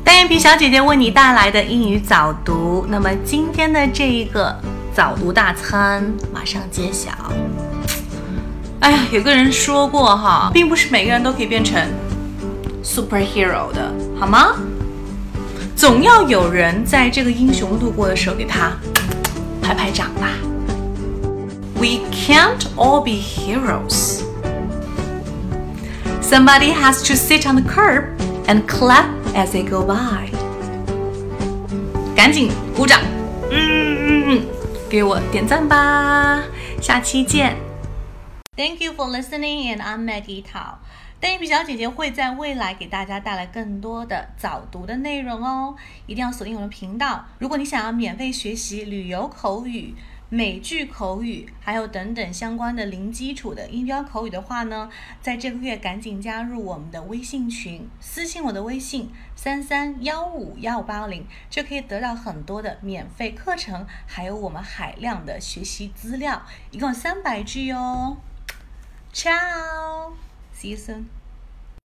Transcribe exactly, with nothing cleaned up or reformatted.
单眼皮小姐姐为你带来的英语早读，那么今天的这一个早读大餐马上揭晓。哎呀，有个人说过哈，并不是每个人都可以变成 superhero 的，好吗？总要有人在这个英雄路过的时候给他拍拍掌吧。We can't all be heroes. Somebody has to sit on the curb and clap as they go by. 赶紧鼓掌，嗯嗯嗯，给我点赞吧，下期见。Thank you for listening, and I'm Maggie Tao. 单眼皮小姐姐会在未来给大家带来更多的早读的内容哦，一定要锁定我们频道。如果你想要免费学习旅游口语、美剧口语，还有等等相关的零基础的音标口语的话呢，在这个月赶紧加入我们的微信群，私信我的微信三三幺五幺五八零，就可以得到很多的免费课程，还有我们海量的学习资料，一共三百句哦。Ciao, see you soon.